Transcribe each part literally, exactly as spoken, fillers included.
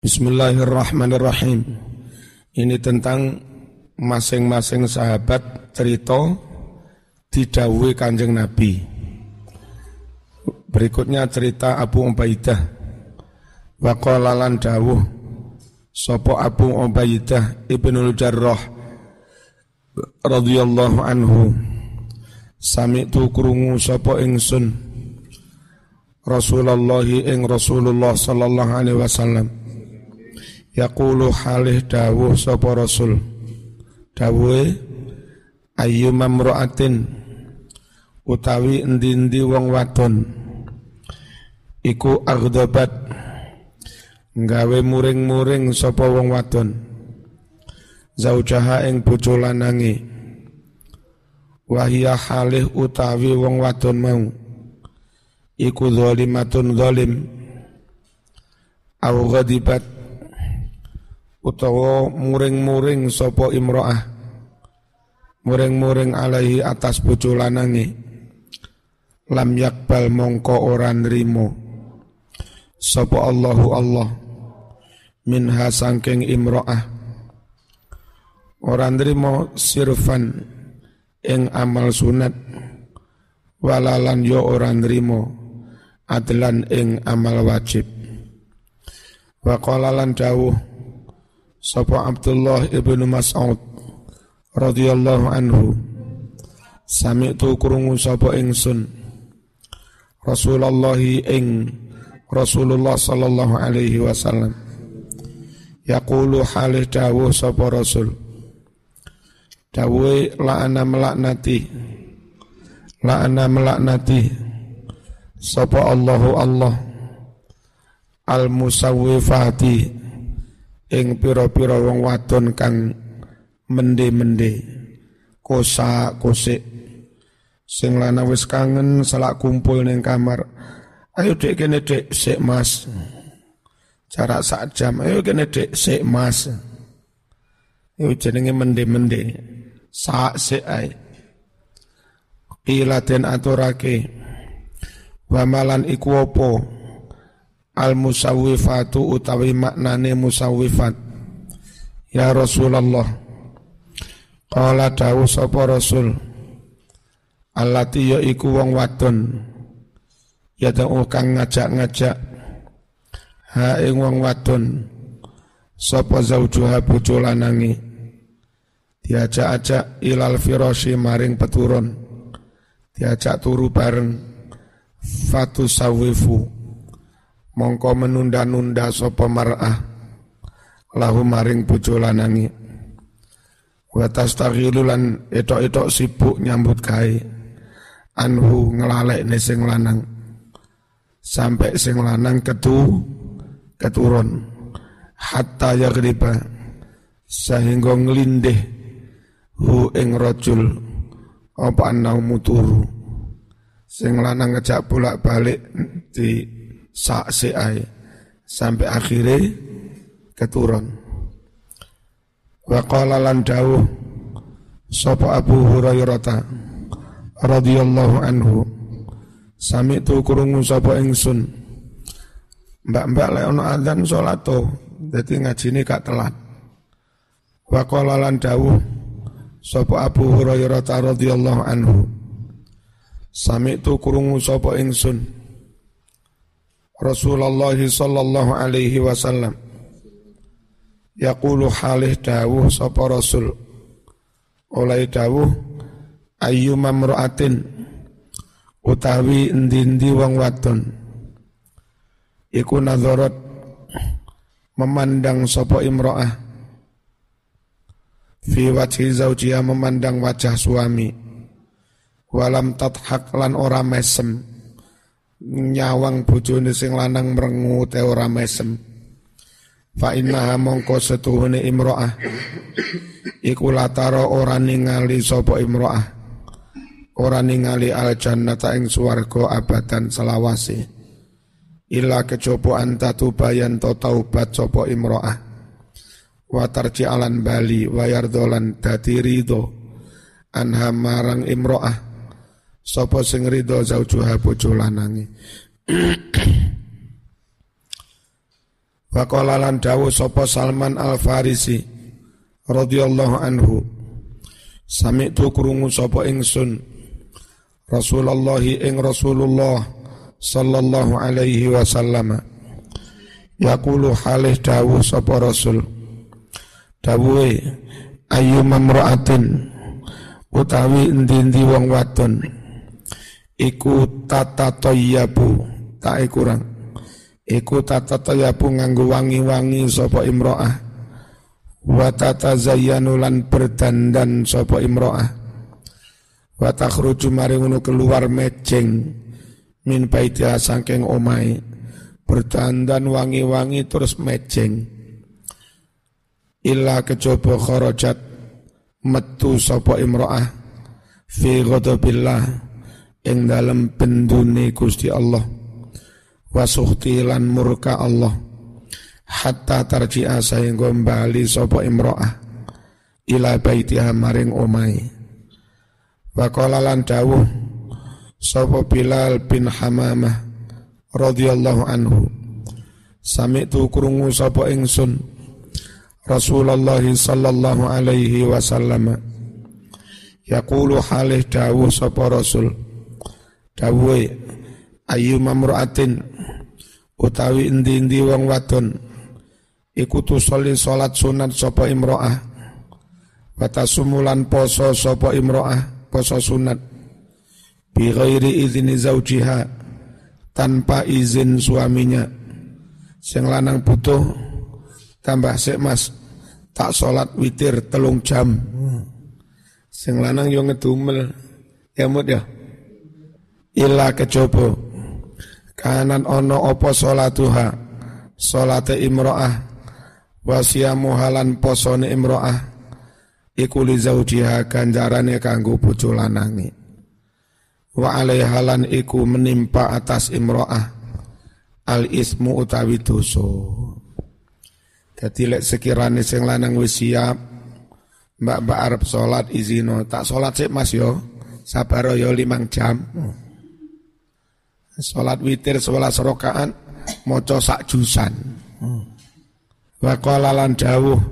Bismillahirrahmanirrahim. Ini tentang masing-masing sahabat cerita didhawuhi Kanjeng Nabi. Berikutnya cerita Abu Ubaidah. Wa qala lan dawuh sapa Abu Ubaidah Ibnul Jarrah radhiyallahu anhu, sami'tu krungu sapa ingsun Rasulullah ing Rasulullah sallallahu alaihi wasallam yaqulu halih dawuh sapa Rasul, dawuhe ayyuma mra'atin utawi endi-endi wong wadon iku agdabat nggawe muring-muring sapa wong wadon zaujaha ing bojo lanange wahia halih utawi wong wadon mau iku zalimatun zalim au ghadibat utawa muring-muring sapa imro'ah muring-muring alaihi atas bojo lanange lam yakbal mongko ora nrimo sapa Allahu Allah minha sangking imro'ah ora nrimo sirfan ing amal sunat walalan yo ora nrimo adlan ing amal wajib. Wa qala lan dawuh sapa Abdullah ibnu Mas'ud radhiyallahu anhu, sami'tu krungu sapa ingsun Rasulullah ing Rasulullah sallallahu alaihi wasallam yaqulu halih dawuh sapa Rasul, dawuhe la'ana melaknati la'ana melaknati sapa Allahu Allah al-musawwifati ing pira-pira wong wadon kang mende-mende kosak-kosik sing lanang wis kangen selak kumpul ning kamar, ayo dek kene dek sik mas, jarak sak jam, ayo kene dek sik mas, yo jenenge mende-mende sak sik ae. Qila den aturake wa malan iku apa al-musawwifatu utawi maknane musawwifat ya Rasulullah. Qala dawuh sapa Rasul, allati ya iku wong wadon ya ta'u kang ngajak-ngajak ha ing wong wadon sapa zaujuha bojo lanange diajak-ajak ilal firasyi maring peturun, diajak turu bareng fatu sawifu mongko menunda-nunda sapa mar'ah lahu maring bojo lanange wa tastaghilu lan etok-etok sibuk nyambut gawe anhu nglalekne sing lanang sampai sing lanang ketu keturun hatta yaghriba sehingga nglindih hu ing rajul apa anau turu sing lanang ngejak bolak-balik di sak seae sampai akhirnya keturun. Wa qala lan dawuh sapa Abu Hurairah radhiyallahu anhu, sami'tu krungu sapa ingsun mbak-mbak lek ana adzan salat to dadi ngajine gak telat. Wa qala lan dawuh sapa Abu Hurairah radhiyallahu anhu, sami'tu krungu sapa ingsun Rasulullah sallallahu alaihi wasallam yaqulu halih dawuh sapa Rasul oleh dawuh ayyuma mra'atin utawi endi-endi wong wadon iku nadharat memandang sapa imra'ah fi wajhi zaujiha memandang wajah suami walam tathak lan ora mesem nyawang bojone sing lanang mrengu te ora mesem fa innaha mongko setuhune imro'ah iku latara ora ningali sapa imro'ah ora ningali al jannata ing swarga abadan selawase illa kejaba antatu bayan to taubat sapa imro'ah wa tarji alan bali wa yardolan dadi ridho anha marang imro'ah sapa sing ridho zaujuha bojo lanange Wa qala lan dawuh sapa Salman Al-Farisi radhiyallahu anhu, sami'tu krungu sapa ingsun Rasulullah ing Rasulullah sallallahu alaihi wasallam yaqulu halih dawuh sapa Rasul, dawuhe ayu mamra'atin utawi endi-endi wong wadon iku tata tayyabu tak kurang iku tata tayyabu nganggo wangi-wangi sapa imro'ah wa tatazayyanu lan berdandan sapa imro'ah wa takhruju mari ngono keluar mejeng min baitiha saking omahe berdandan wangi-wangi terus mejeng illa kejaba kharajat metu sapa imro'ah fi ghadabillah ing dalem bendune Gusti Allah wa sukhti lan murka Allah hatta tarji'a sehingga bali sapa imro'ah ila baitiha maring omahe wa qala lan dawuh sapa Bilal bin Hamamah radhiyallahu anhu sami'tu krungu sapa ingsun Rasulullah sallallahu alaihi wasallam yaqulu halih dawuh sapa Rasul dawuhe ayu mamra'atin utawi endi-endi wong wadon iku tusolli salat sunat sapa imro'ah wa tasumulan poso sapa imro'ah poso sunat bi ghairi izni zaujiha tanpa izin suaminya sing lanang butuh tambah sik mas tak salat witir telung jam sing lanang yo ngedumel ya mut ya illa kejaba kanan ono apa salatuha salate imro'ah wa siyamu halan posone imro'ah iku li zaujiha ganjarane kanggo bojo lanange wa alaiha lan iku menimpa atas imro'ah al ismu utawi dosa. Dadi lek sekirane sing lanang wis siap mbak-mbak arep salat izino tak salat sik Mas yo sabar yo limang jam. Salat witir sewelas rakaat maca sak jusan. Wa qala lan dawuh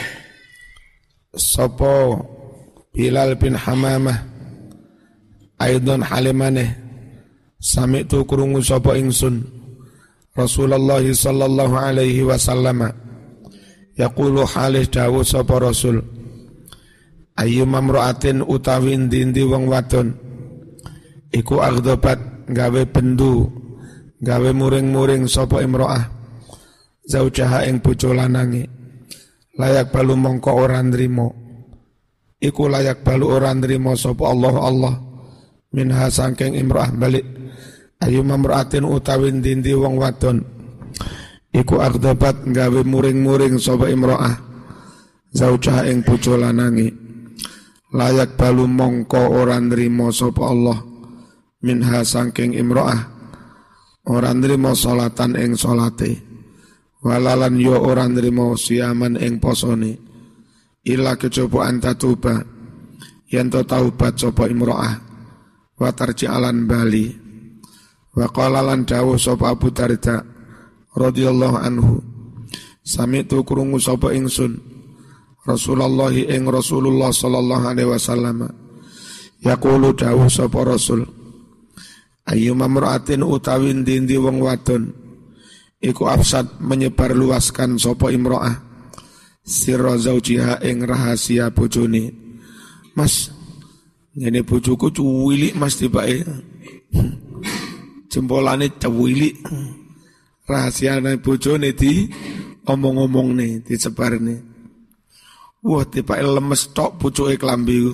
sapa Bilal bin Hamamah aidon halimane sami'tu krungu sapa ingsun Rasulullah sallallahu alaihi wasallam yaqulu halih dawuh sapa Rasul ayu mamra'atin utawi endi-endi wong wadon iku agdobat gawe bendu gawe muring-muring sapa imro'ah zaujaha ing bojo lanange layak balu mongko ora nrimo iku layak balu ora nrimo sapa Allah Allah minha saking imro'ah balik ayu mamra'atin utawi endi-endi wong wadon iku agdobat gawe muring-muring sapa imro'ah zaujaha ing bojo lanange layak balu mongko ora nrimo sapa Allah minha saking imro'ah ora nrimo salatan ing salate walalan yo ora nrimo siaman ing posone illa kejaba antatuba yen to taubat sapa imro'ah wa tarji'alan bali wa qala lan dawuh sapa Abu Darda radhiyallahu anhu sami'tu krungu sapa ingsun Rasulullah ing Rasulullah sallallahu alaihi wasallam yaqulu dawuh sapa Rasul ayu mamra'atin utawi endi-endi wong wadon iku afsad menyebar luaskan sapa imro'ah sirra zaujiha ing rahasia bojone Mas ngene bojoku cuwilik Mas tibake jempolane cuwilik rahasiane bojone di omong-omongne disebarne wah tibake lemes tok pucuke klambi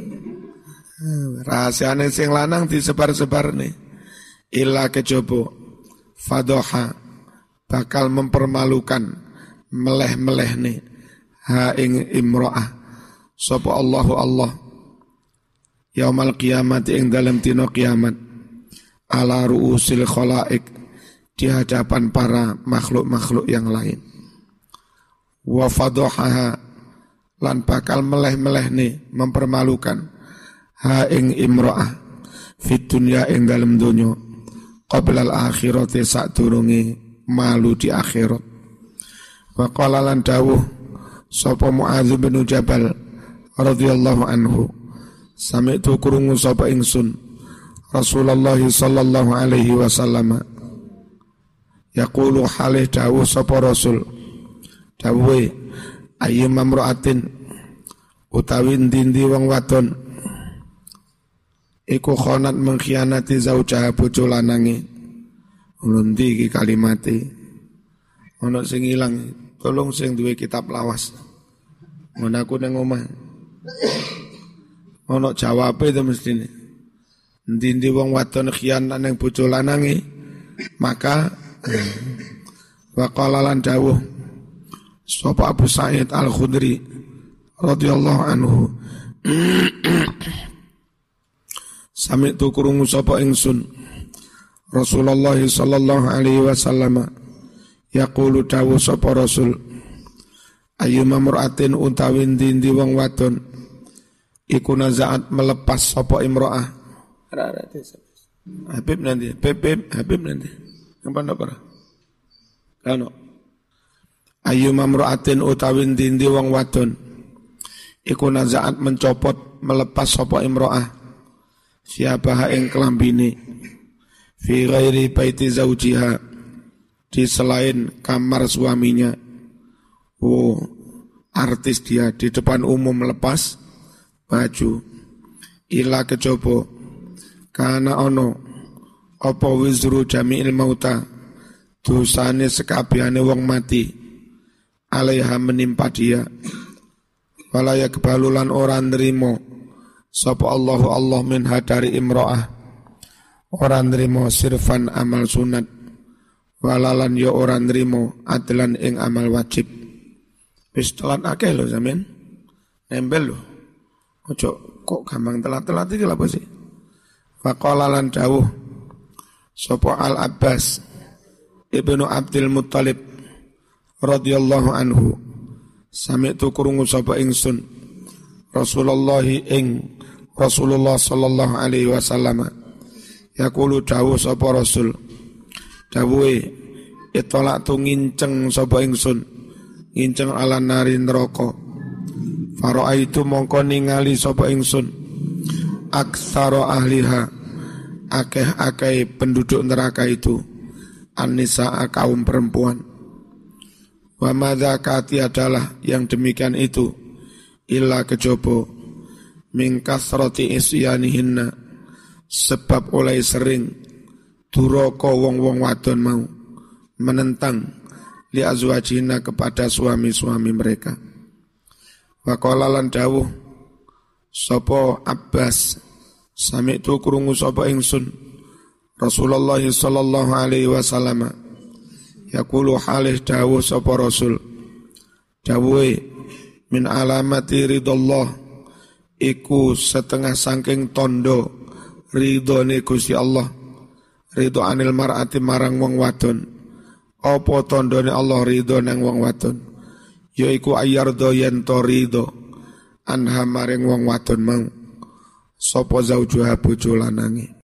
rahasiane sing lanang disebar-sebarne illa kejaba fadhaha bakal mempermalukan meleh-melehne ha ing imro'ah sapa Allahu Allah yaumal kiamat ing dalam dina kiamat ala ru'usil khalaik di hadapan para makhluk-makhluk yang lain wa fadhaha lan bakal meleh-melehne mempermalukan ha ing imro'ah fit dunya ing dalam dunya qabla al akhirati sadurunge malu di akhirat Wa qala lan dawuh sapa Muadz bin Jabal radhiyallahu anhu, sami'tu krungu sapa ingsun Rasulullah sallallahu alaihi wasallam yaqulu halih dawuh sapa Rasul, dawuhe ayyuma mamra'atin utawi ndi wong wadon iku khonat mengkhianati zaujaha bojo lanange. Ndi iki kalimate ana sing ilang, tolong sing duwe kitab lawas ngono aku nang omah ana jawabe to mestine. Ndi wong wadon khianat nang bojo lanange maka wa qala lan dawuh sapa Abu Sa'id Al-Khudri radhiyallahu anhu sami'tu krungu sapa ingsun Rasulullah sallallahu alaihi wasallam yaqulu dawuh sapa Rasul ayyuma mar'atin utawi ndi wong wadon iku nazaat melepas sapa imro'ah Habib nanti Habib Habib nanti apa ndak para kano ayyuma mar'atin utawi ndi wong wadon iku nazaat mencopot melepas sapa imro'ah siapa ing kelambine fi ghairi baiti zaujiha di selain kamar suaminya. Oh, artis dia di depan umum melepas baju ila kecoba kana ono apa wizru jami'il mauta dosane sekabehane wong mati alaiha menimpa dia wala yakbalulan ora nrimo sapa Allahu Allah min hadari imro'ah ora nrimo sirfan amal sunat walalan ya ora nrimo adlan ing amal wajib. Wis telat akeh lho sampean nembel lho ojo kok gampang telat-telat iki lha apa sih. Faqala lan dawuh sapa Al Abbas Ibnu Abdul Muttalib radhiyallahu anhu sami'tu krungu sapa ingsun Rasulullah ing Rasulullah sallallahu alaihi wasallam yaqulu dawuh sapa Rasul dawuhe itolak tu nginceng sapa ingsun nginceng ala nari neraka fara'a itu mongko ningali sapa ingsun aktsara ahliha akeh-akeh penduduk neraka itu an-nisaa kaum perempuan wa madzakati adalah yang demikian itu illa kejobo min kasrati isyanihinna sebab oleh sering duraka wong-wong wadon mau menentang li azwajina kepada suami-suami mereka. Wa qala lan dawuh sapa Abbas sami'tu krungu sapa ingsun Rasulullah sallallahu alaihi wasallam yaqulu halih dawuh sapa Rasul dawuhe min alamati ridallah iku setengah saking tondo ridhone Gusti Allah ridho anil mar'ati marang wong wadon apa tondone Allah ridho nang wong wadon yaiku ayardo yen to ridho anha maring wong wadon mau sapa zaujuha bojo lanange.